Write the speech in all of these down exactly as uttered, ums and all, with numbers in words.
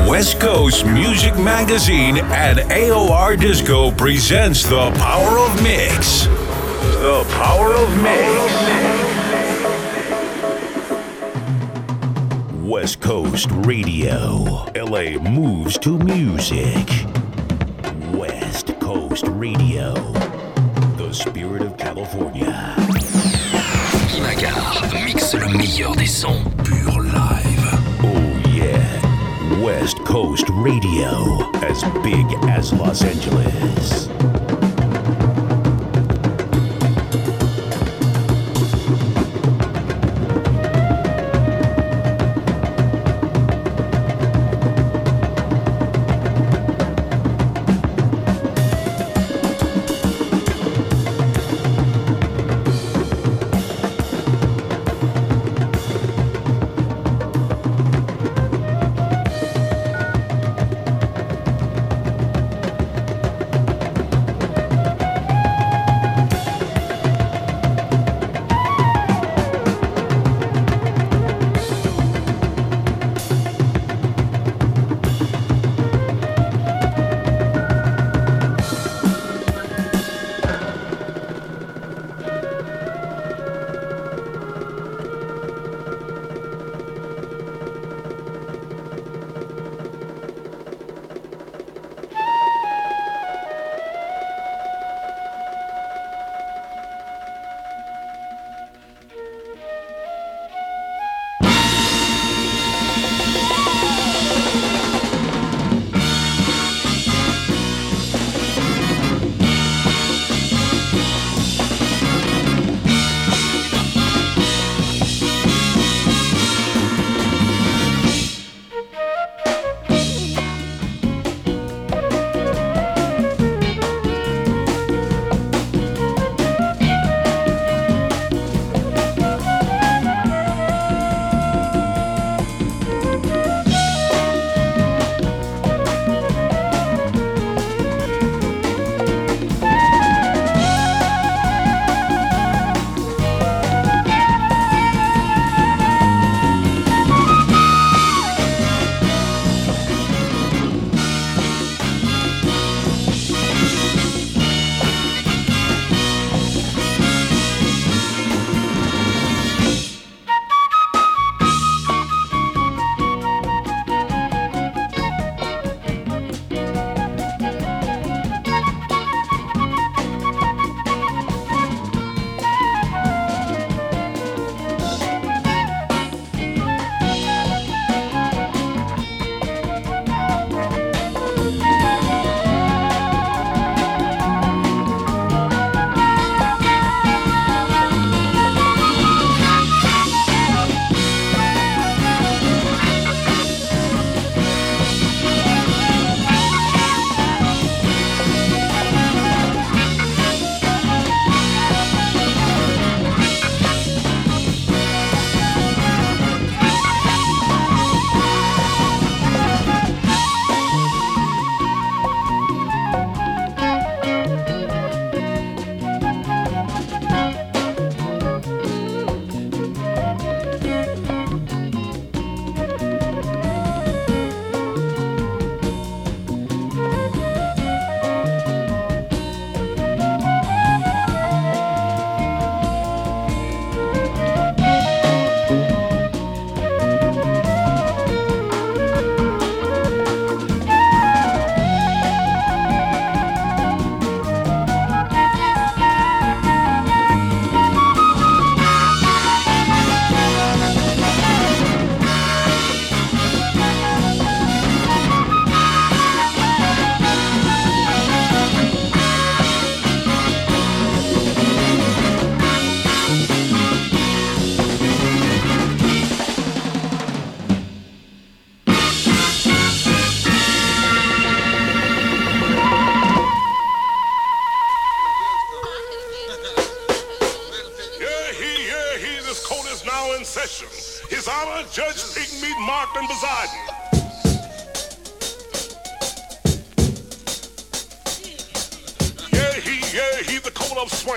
West Coast Music Magazine and A O R Disco presents The Power of Mix. The Power of Mix. West Coast Radio. L A moves to music. West Coast Radio. The spirit of California. Guy Magar mixe le meilleur des sons. Pure live. Oh yeah. West Coast Radio, as big as Los Angeles.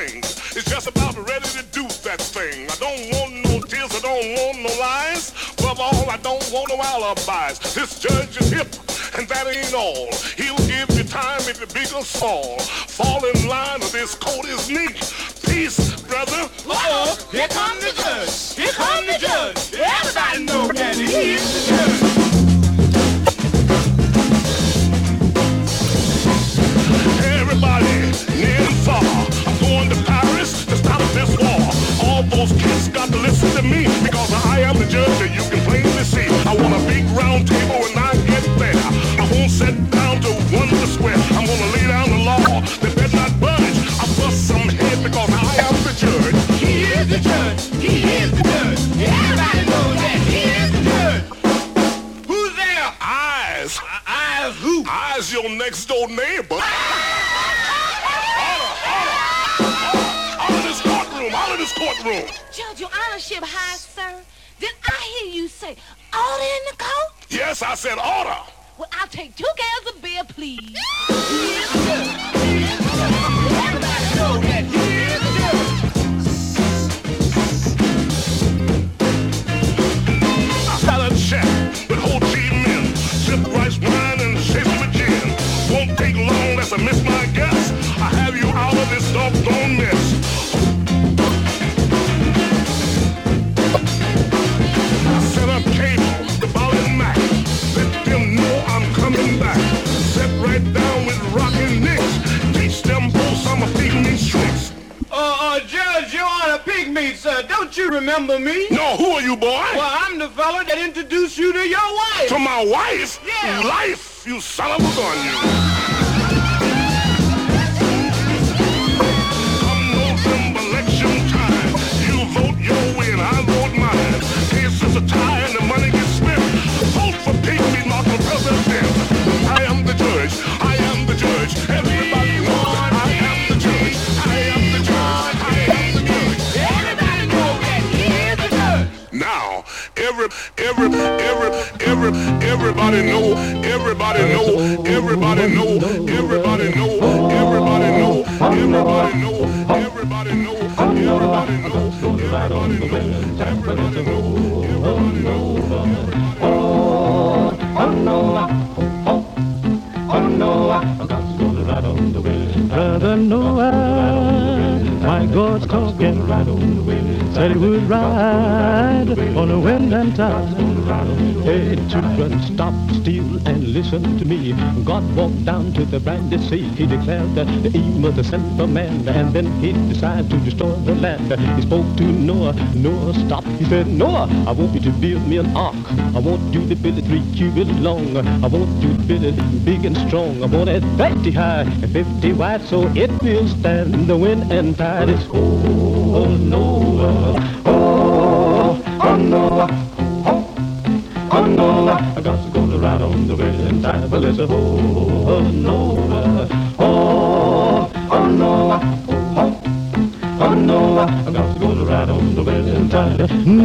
It's just about ready to do that thing. I don't want no tears, I don't want no lies, but of all, I don't want no alibis. This judge is hip, and that ain't all. He'll give you time if you're big or small. Fall in line or this coat is neat. Peace, brother. Uh-oh, here come the judge. Here come the judge. Everybody know that he is the judge. Everybody, near and far, I'm going to Paris to stop this war. All those kids got to listen to me, because I am the judge that you can plainly see. I want a big round table when I get there. I won't sit down to wonder square. I'm gonna lay down the law, they better not budge. I bust some head because I am the judge. He is the judge, he is the judge. Everybody knows that he is the judge. Who's there? Eyes. Uh, eyes who? Eyes your next door neighbor. Out of this courtroom. Judge, your honorship high, sir. Did I hear you say order in the court? Yes, I said order. Well, I'll take two cans of beer, please. He is the judge. He is the judge. Everybody know that he is the judge. A salad chef with Ho Chi Minh, sip rice wine and chase with gin. Won't take long, that's a miss my guess. I have you out of this doggone mess. Sir, don't you remember me? No, who are you, boy? Well, I'm the fella that introduced you to your wife. To my wife? Yeah. Life, you son of a gun, you. Come November election time, you vote your way and I vote mine. Case is a tie and the money gets spent. Vote for Pigmeat, not for president. I am the judge, I am the judge. Everybody knows that I am the judge. I am the judge, I am the judge. Everybody knows that he is the judge. Now, every, every, every, every, everybody know, everybody know, everybody know, everybody know, everybody know, everybody know, everybody know, everybody know, everybody know, everybody know, everybody know. Oh, oh no, oh, oh no, I'm got to go to ride on the wind. Brother Noah, my God's talking, said he would ride on the wind and tide. Hey, children, stop, still, and listen to me. God walked down to the brandy sea. He declared that the aim of the sinful man, and then he decided to destroy the land. He spoke to Noah. Noah, stop. He said, Noah, I want you to build me an ark. I want you to build it three cubits long. I want you to build it big and strong. I want it thirty high and fifty wide, so it will stand the wind and tide. It's oh, oh Noah, oh, oh Noah. Oh no, I got to go to ride on the wind and tide, but it's a oh, oh no, oh, oh no, oh, oh no, I got to go to ride on the wind and tide.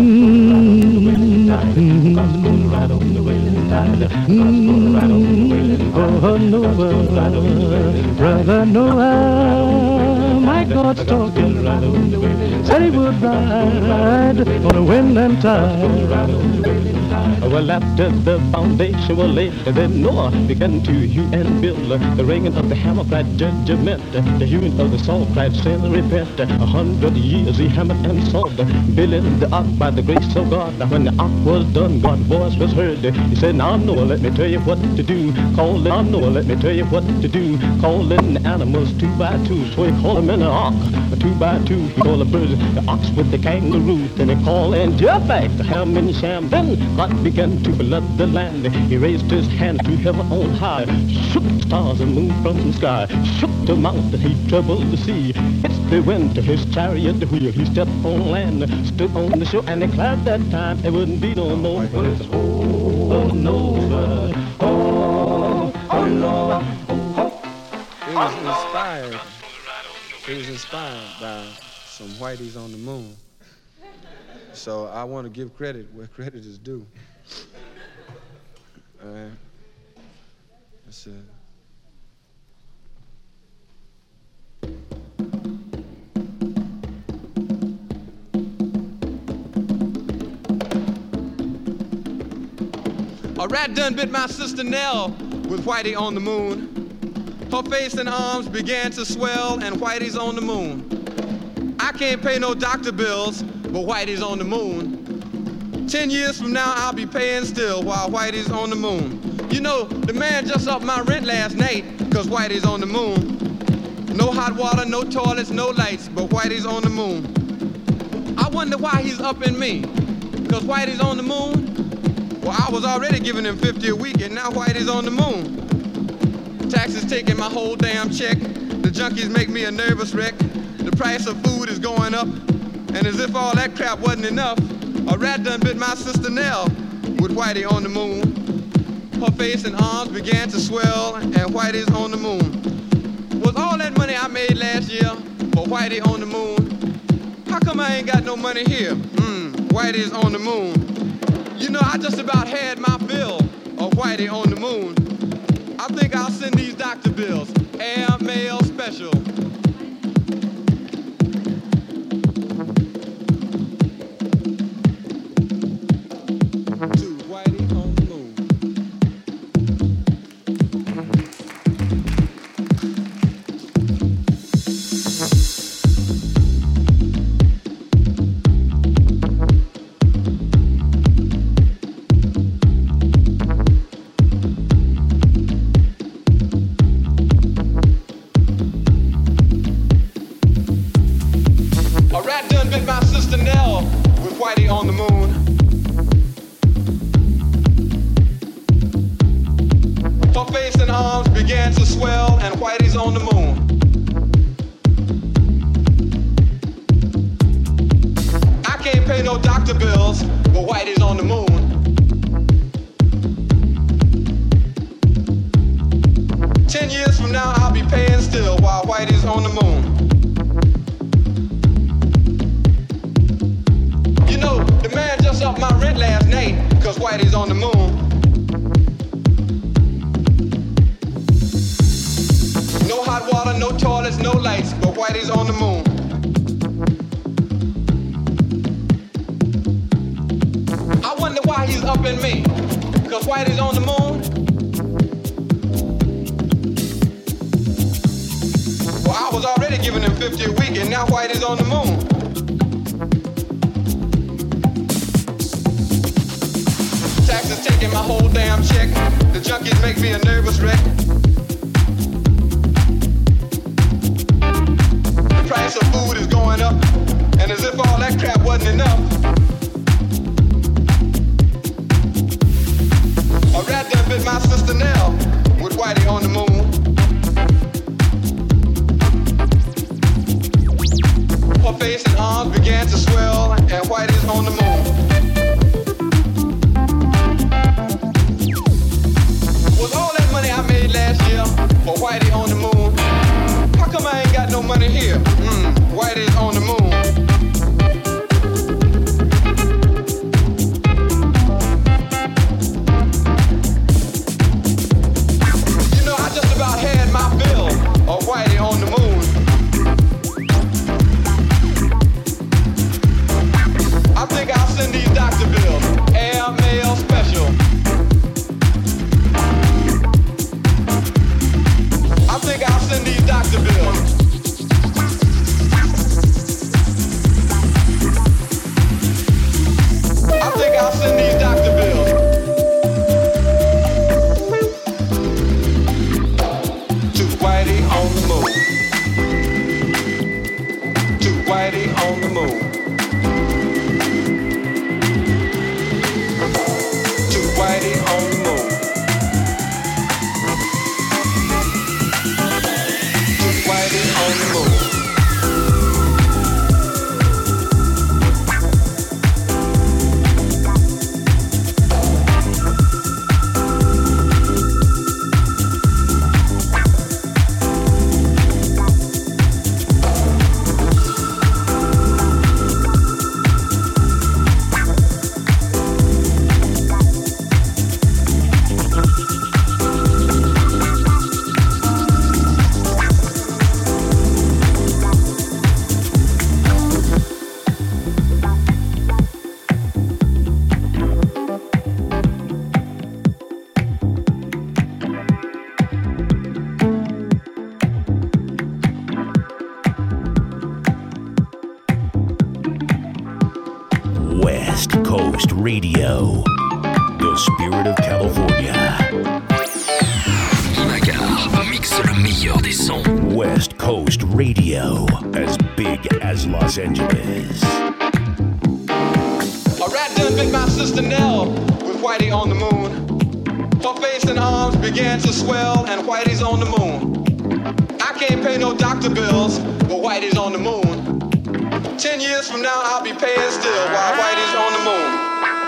Mm-hmm. Got to go to ride on the wind and tide. Got to go to ride on the wind and tide. Oh Noah, brother Noah, my God's talking, said he would ride on the wind and tide. Well, after the foundation was laid, then Noah began to hew and build. The ringing of the hammer cried judgment, the hewing of the saw cried sin and repent. A hundred years he hammered and sawed, building the ark by the grace of God. When the ark was done, God's voice was heard. He said, now Noah, let me tell you what to do. Call in, now Noah, let me tell you what to do. Call in the animals two by two, so he called them in the ark. Two by two, he called the birds, the ox with the kangaroo. Then he called in Japheth, the ham and Shem. Then God began to flood the land. He raised his hand to heaven on high, shook the stars and moon from the sky, shook the mountain, he troubled the sea. It's the wind to his chariot the wheel. He stepped on land, stood on the shore, and declared that time there wouldn't be no more. But it's oh, oh no, oh, oh no. It was inspired. It was inspired by some whiteys on the moon. So I want to give credit where credit is due. All right. That's it. A rat done bit my sister Nell with Whitey on the moon. Her face and arms began to swell, and Whitey's on the moon. I can't pay no doctor bills, but Whitey's on the moon. Ten years from now, I'll be paying still while Whitey's on the moon. You know, the man just upped my rent last night, cause Whitey's on the moon. No hot water, no toilets, no lights, but Whitey's on the moon. I wonder why he's upping me, cause Whitey's on the moon? Well, I was already giving him fifty a week, and now Whitey's on the moon. Taxes taking my whole damn check. The junkies make me a nervous wreck. The price of food is going up, and as if all that crap wasn't enough, a rat done bit my sister Nell with Whitey on the moon. Her face and arms began to swell, and Whitey's on the moon. Was all that money I made last year for Whitey on the moon? How come I ain't got no money here? Mmm, Whitey's on the moon. You know, I just about had my fill of Whitey on the moon. I think I'll send these doctor bills, air mail special. To Whitey on the moon. Whitey on the moon. Her face and arms began to swell, and Whitey's on the moon. I can't pay no doctor bills, but Whitey's on the moon. Ten years from now, I'll be paying still while Whitey's on the moon. You know, the man just upped my rent last night, cause Whitey's on the moon. No hot water, no toilets, no lights, but Whitey's on the moon. I wonder why he's upping me, cause Whitey's on the moon. Well, I was already giving him fifty a week, and now Whitey's on the moon. Taxes taking my whole damn check. The junkies make me a nervous wreck. The price of food is going up, and as if all that crap wasn't enough, a rat done bit my sister Nell with Whitey on the moon. Her face and arms began to swell, and Whitey's on the moon. Was all that money I made last year for Whitey on the moon? How come I ain't got no money here? Mmm, Whitey's on the moon. You know, I just about had my fill of Whitey on the moon. I think I'll send these doctor bills, air mail special. I Coast Radio. The spirit of California. Imagar mixe le meilleur des sons. West Coast Radio. As big as Los Angeles. A rat done bit my sister Nell with Whitey on the moon. Her face and arms began to swell and Whitey's on the moon. I can't pay no doctor bills, but Whitey's on the moon. Ten years from now I'll be paying still while Whitey's on the moon.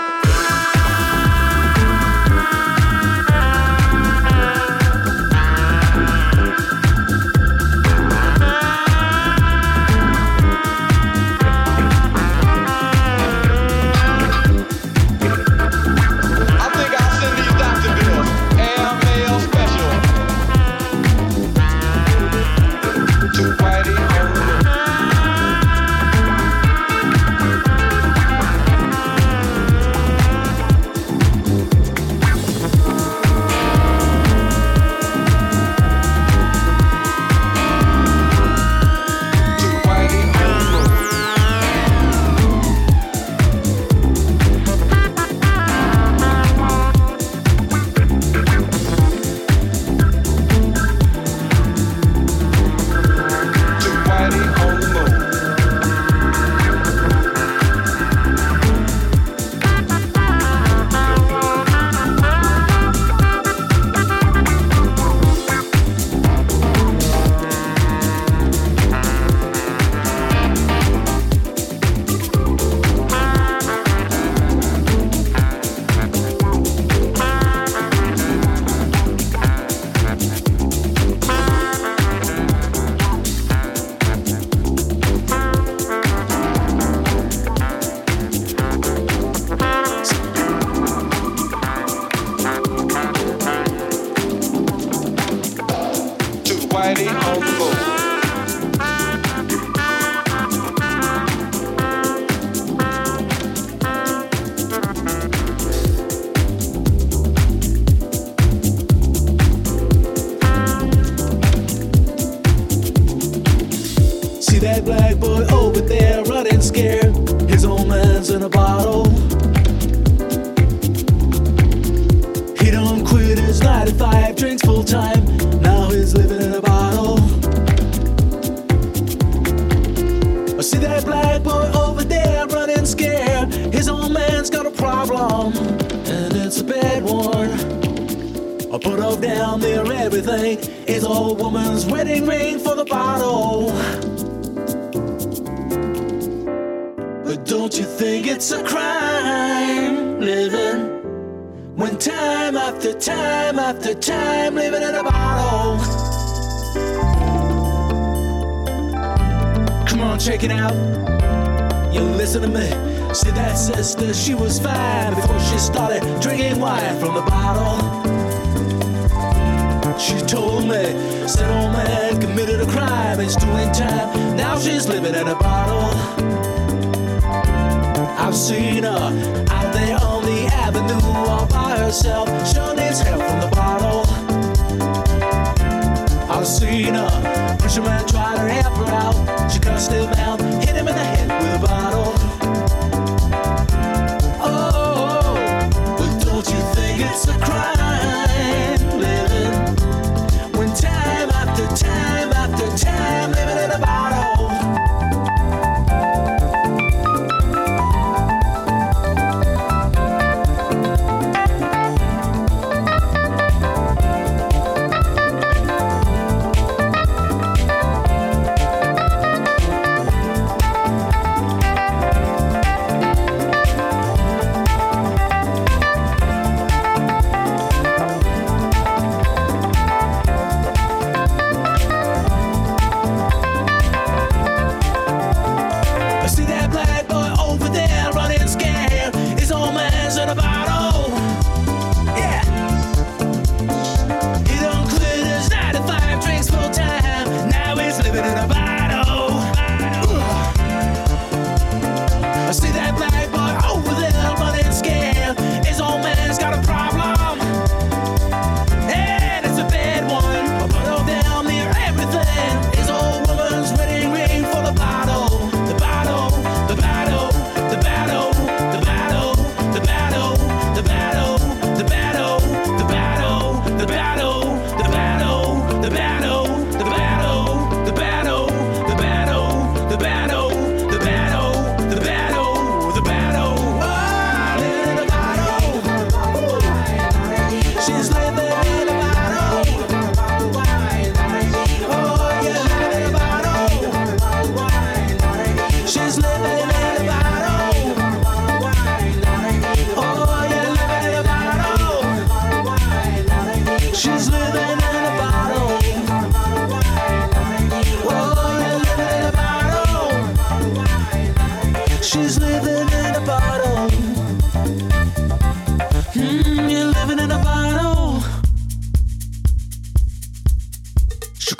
She was fine before she started drinking wine from the bottle. She told me, said old man committed a crime, it's doing time, now she's living in a bottle. I've seen her out there on the avenue all by herself, sure needs help from the bottle. I've seen her, preacher man tried to help her out, she cussed him out, hit him in the head with a bottle. It's a crime living when time after time after time living in a bottle.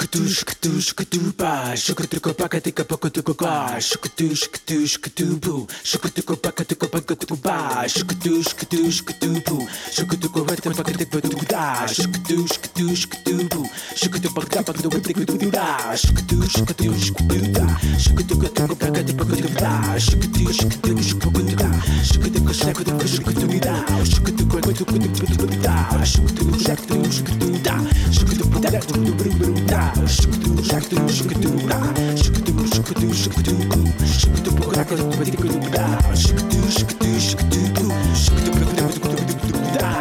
shukatu shukatu shukatu ba shukatu ko pakatika pakatu ba shukatu shukatu shukatu bu shukatu ko pakatika pakatu ba shukatu shukatu shukatu bu shukatu ko pakatu pakatu da shukatu shukatu shukatu bu shukatu pakatu pakatu pakatu da shukatu shukatu shukatu da shukatu ko pakatu pakatu da shukatu shukatu shukatu da shukatu ko shukatu shukatu da shukatu ko pakatu pakatu da shukatu shukatu shukatu da shukatu pakatu da shukatu shukatu shukatu da shukatu shukatu shukatu shukatu pakatu pakatu da shukatu shukatu shukatu shukatu pakatu pakatu da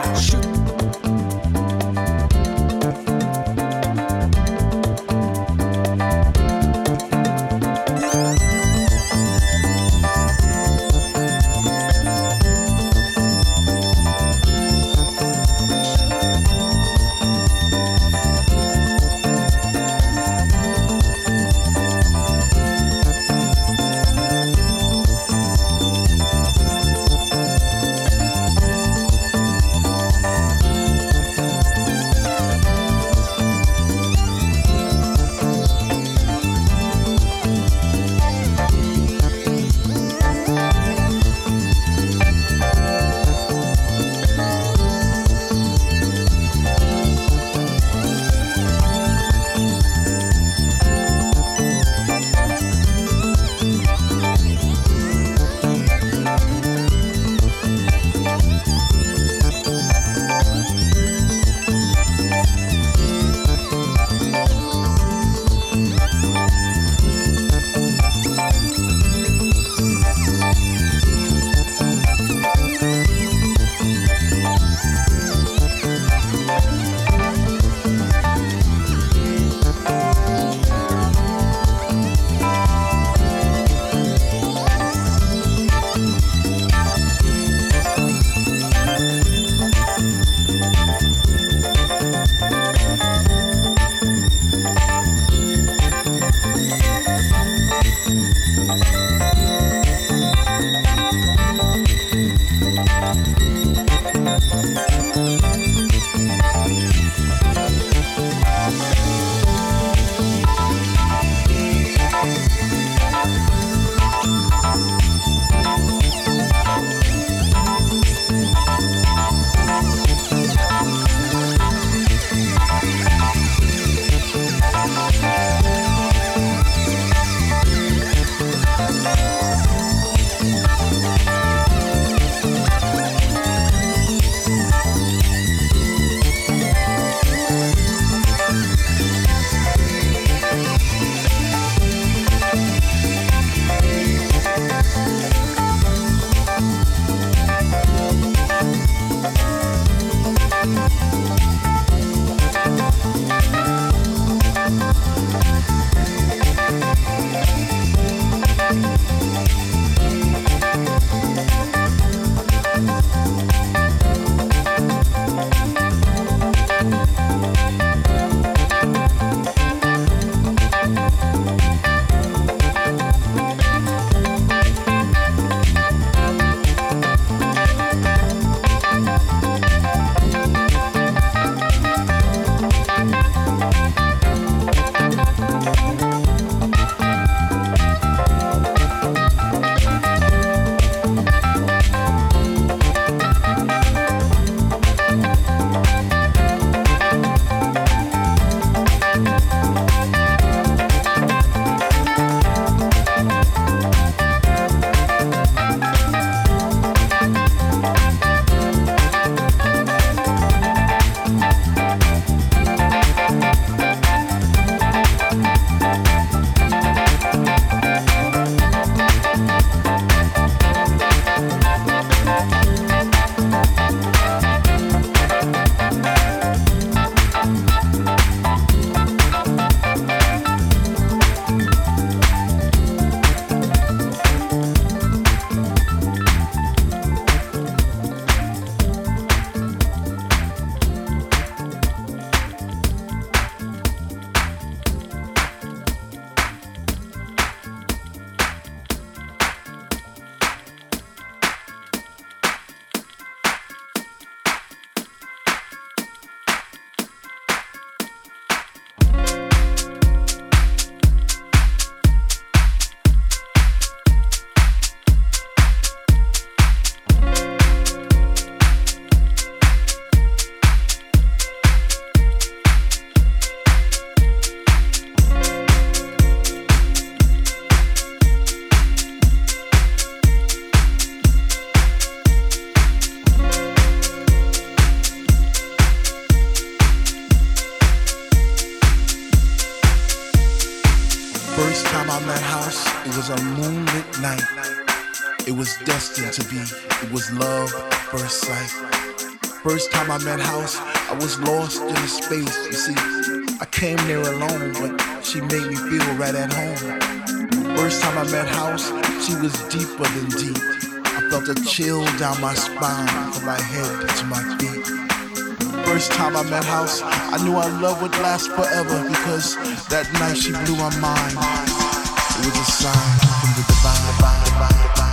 First time I met House, it was a moonlit night. It was destined to be, it was love at first sight. First time I met House, I was lost in space. You see, I came there alone, but she made me feel right at home. First time I met House, she was deeper than deep. I felt a chill down my spine from my head to my feet. First time I met House, I knew our love would last forever because that night she blew my mind. It was a sign from the divine, divine, divine, divine.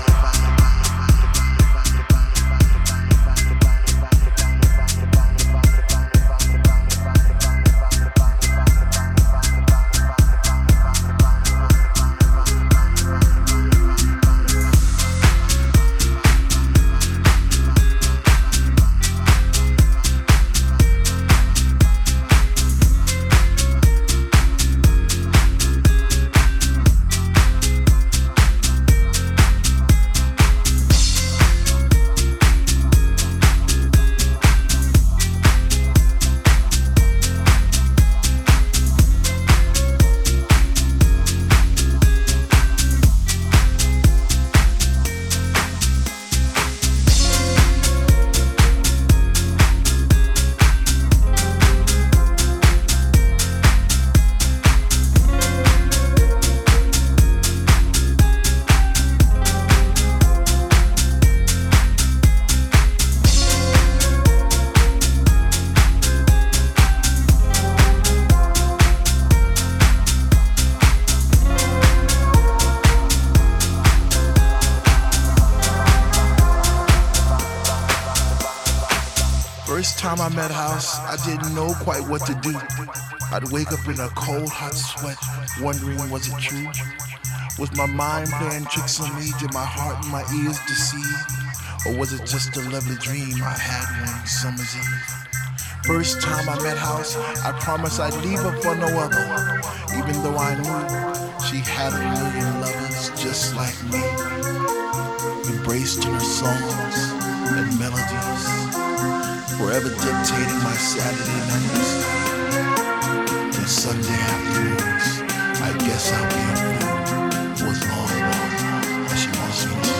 Time I met House, I didn't know quite what to do. I'd wake up in a cold, hot sweat, wondering was it true? Was my mind playing tricks on me? Did my heart and my ears deceive? Or was it just a lovely dream I had one summer's eve? First time I met House, I promised I'd leave her for no other, even though I knew she had a million lovers just like me, embraced in her songs and melodies, forever dictating my Saturday nights and Sunday afternoons. I guess I'll be a fool for as long as she wants me to.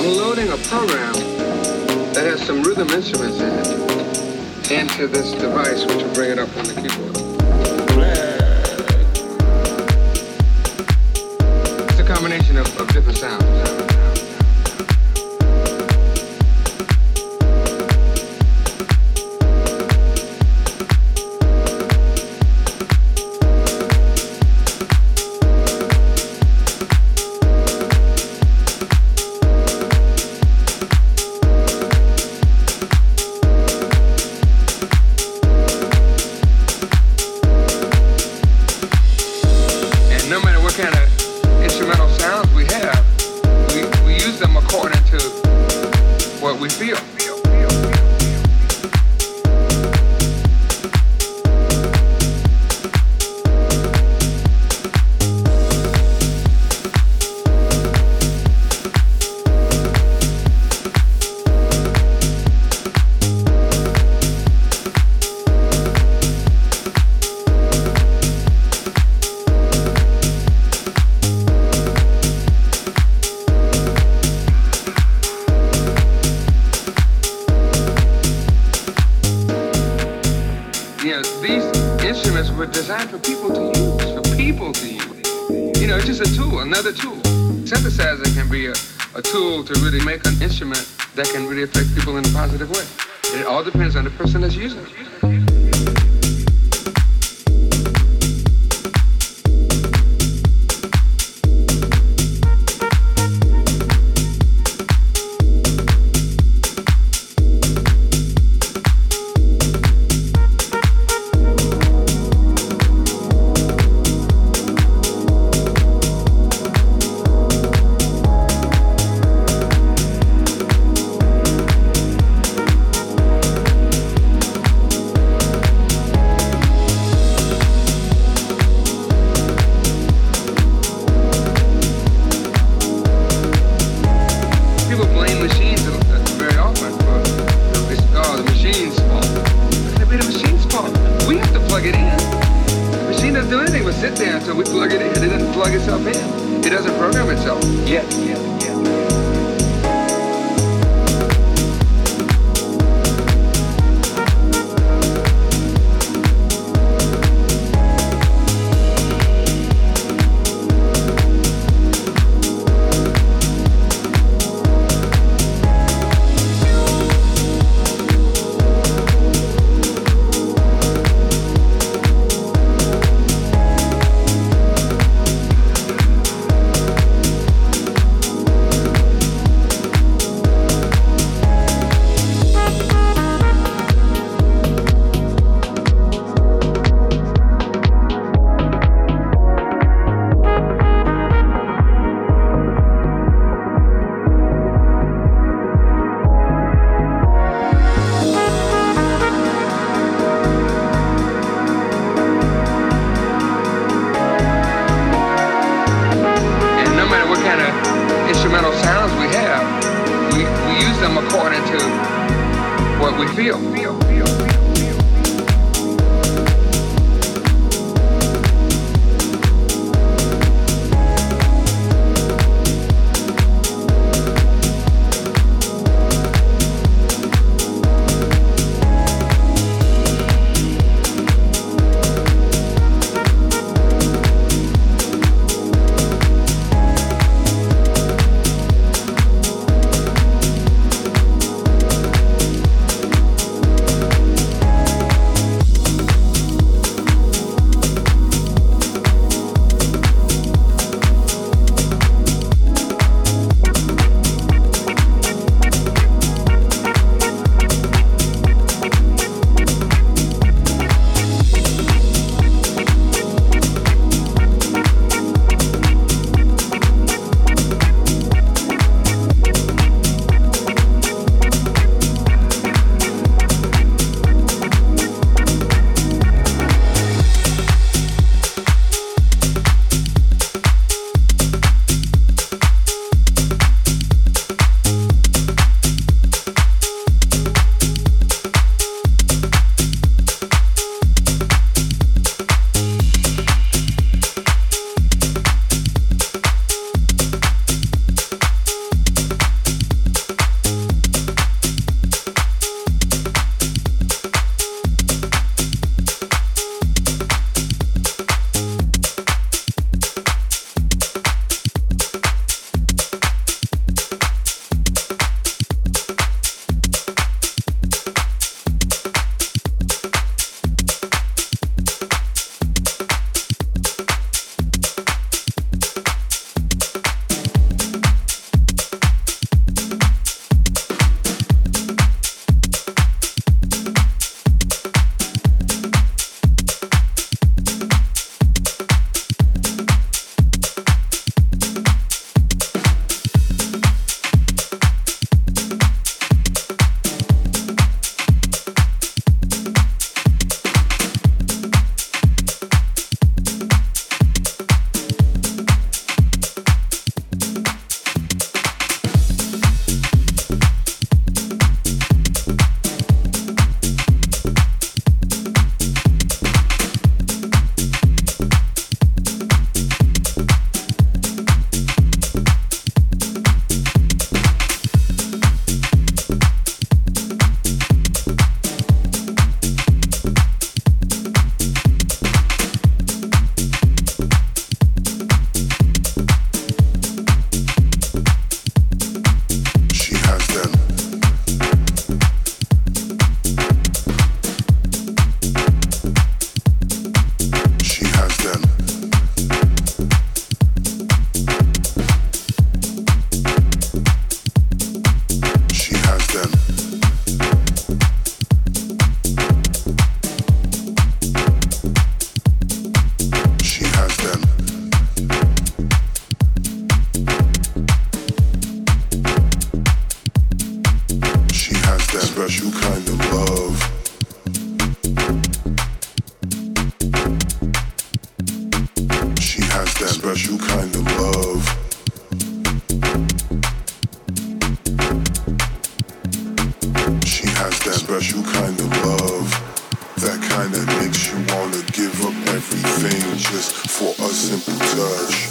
I'm loading a program that has some rhythm instruments in it into this device, which will bring it up on the keyboard. It's a combination of, of different sounds. That can really affect people in a positive way. It all depends on the person that's using it. special kind of love. That kind that makes you wanna give up everything just for a simple touch.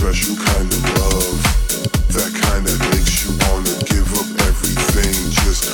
Kind that makes you wanna give up everything just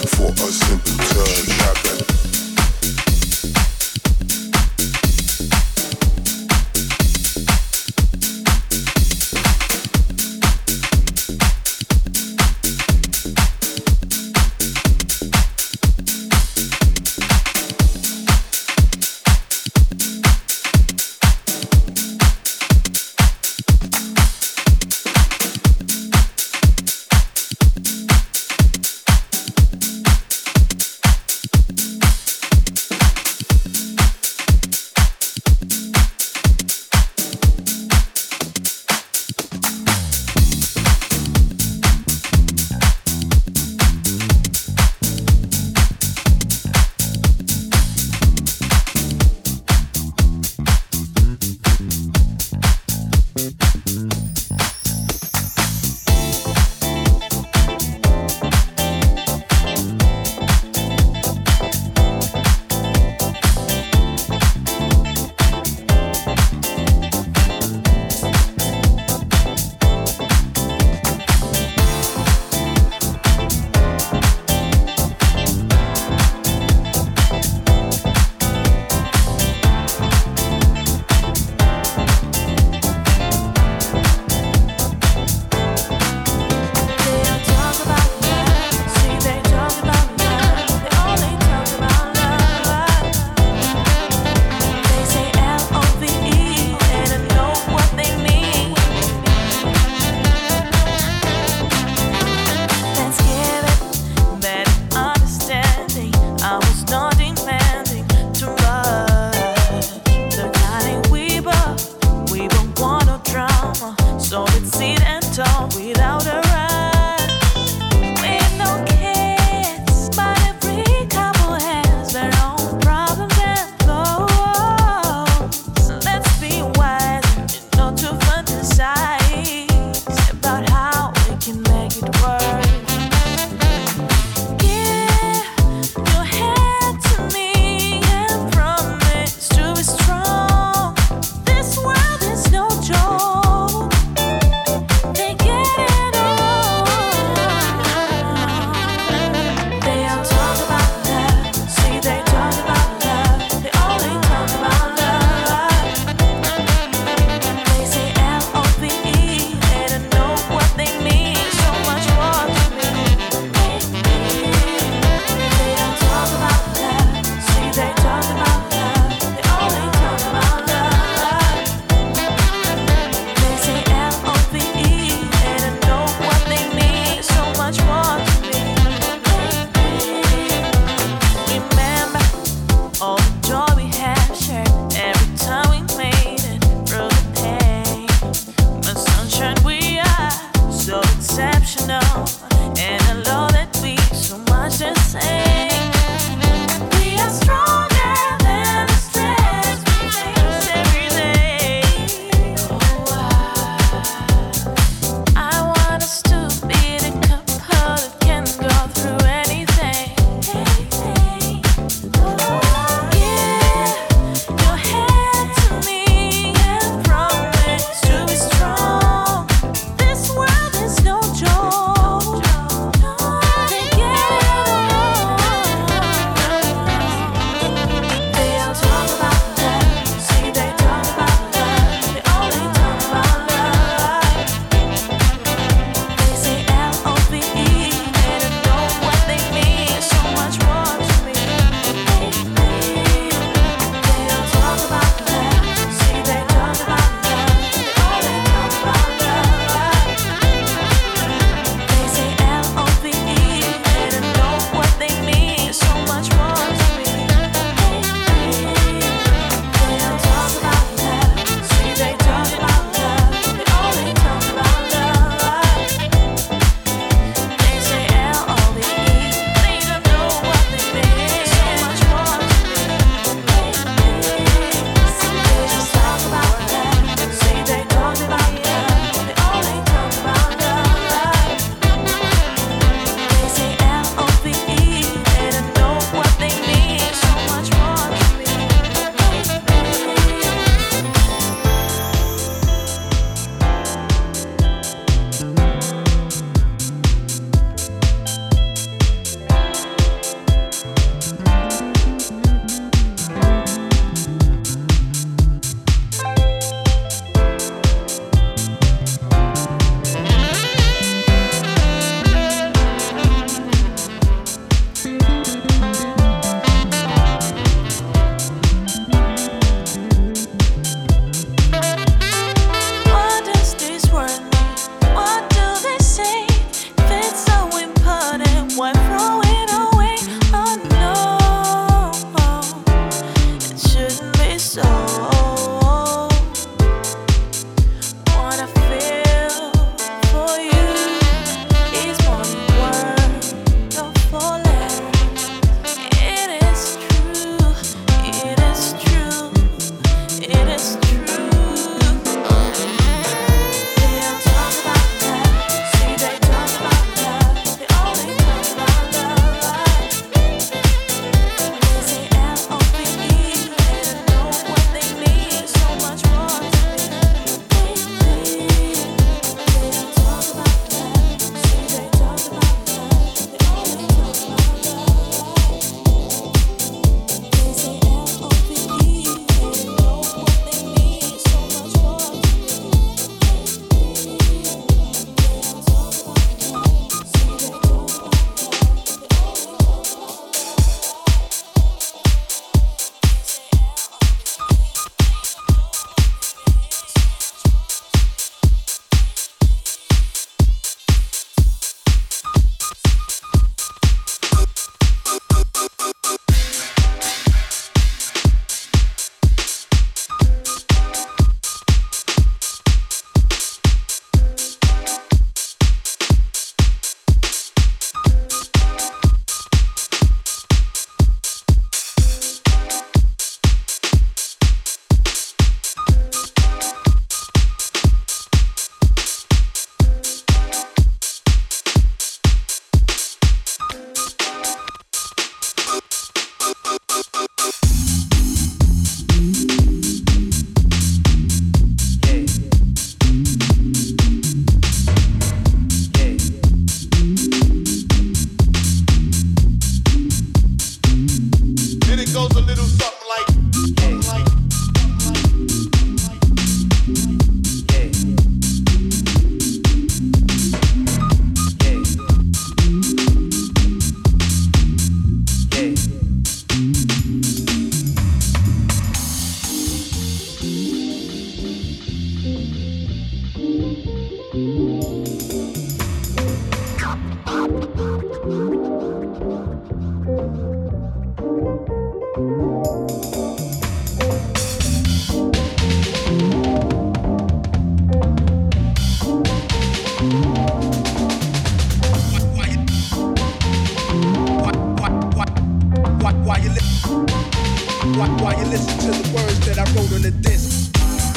I wrote on the disc.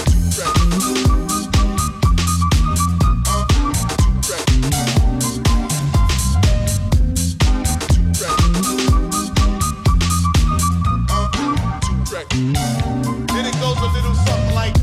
Then it goes a little something like.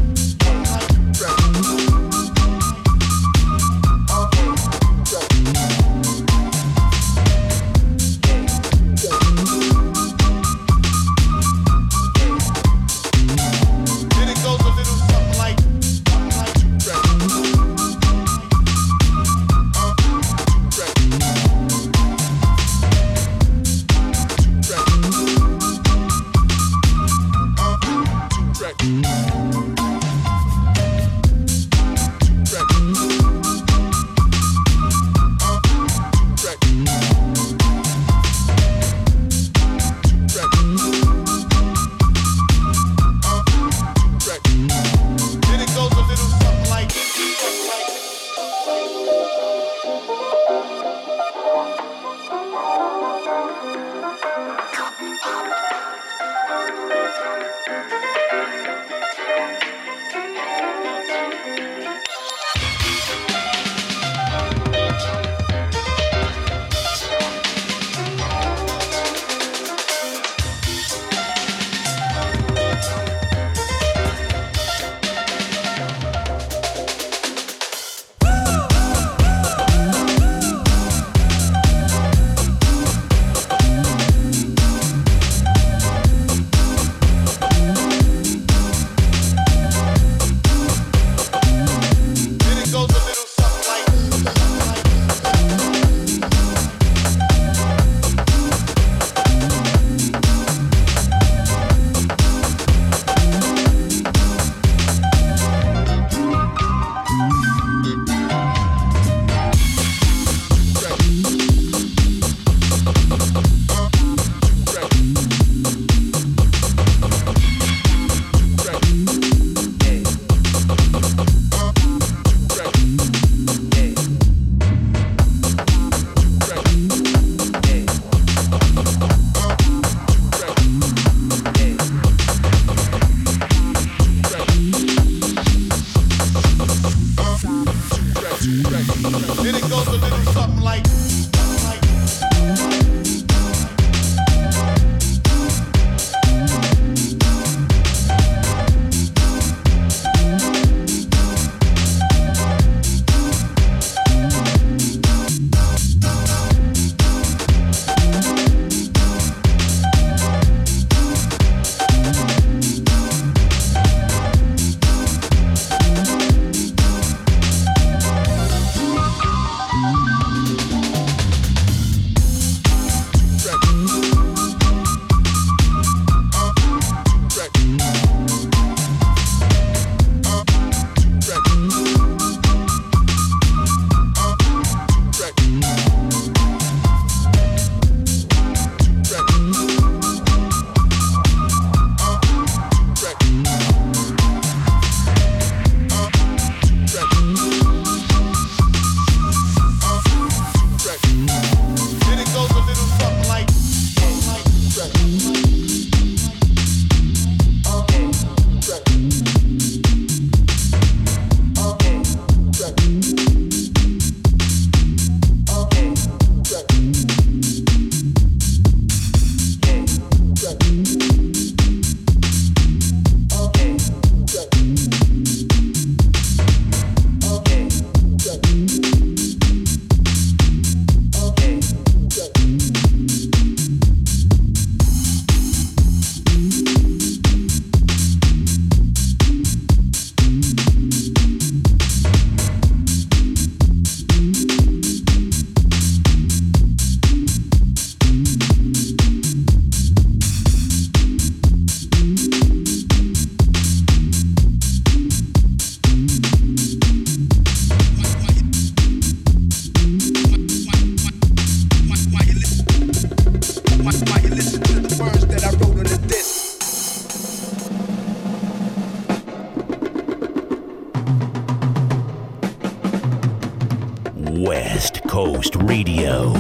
West Coast Radio,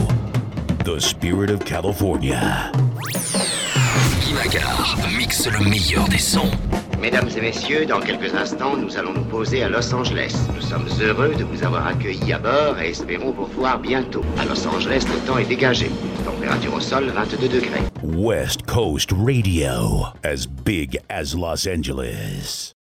the spirit of California. Guy Macar mixe le meilleur des sons. Mesdames et messieurs, dans quelques instants, nous allons nous poser à Los Angeles. Nous sommes heureux de vous avoir accueillis à bord et espérons vous revoir bientôt. À Los Angeles, le temps est dégagé. Température au sol, vingt-deux degrés. West Coast Radio, as big as Los Angeles.